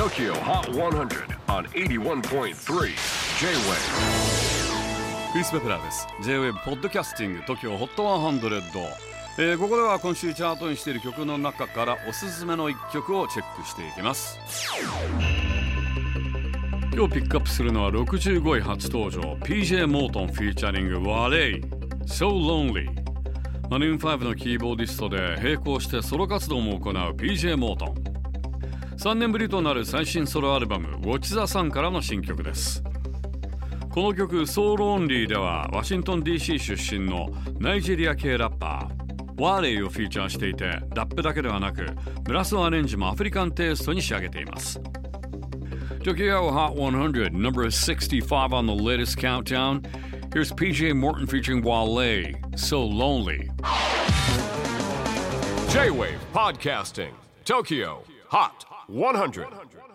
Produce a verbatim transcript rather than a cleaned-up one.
Tokyo Hot one hundred on エイティワンポイントスリー J-Wave。 クリス・ベプラーです。 J-Wave ポッドキャスティング Tokyo Hot ひゃく、えー、ここでは今週チャートにしている曲の中からおすすめのいっきょくをチェックしていきます。今日ピックアップするのはろくじゅうごい初登場 ピージェー モートンフィーチャリング Wale So Lonely。 マルーンファイブのキーボーディストで並行してソロ活動も行う ピージェー モートン。さんねんぶりとなる最新ソロアルバム Watch the Sun からの新曲です。この曲 So Lonely ではワシントン ディーシー 出身のナイジェリア系ラッパーワーレイをフィーチャーしていて、ラップだけではなくブラスアレンジもアフリカンテイストに仕上げています。Tokyo Hot one hundred, number sixty-five on the latest countdown. Here's P J Morton featuring Wale, So Lonely. J-Wave Podcasting, Tokyo Hot one hundred.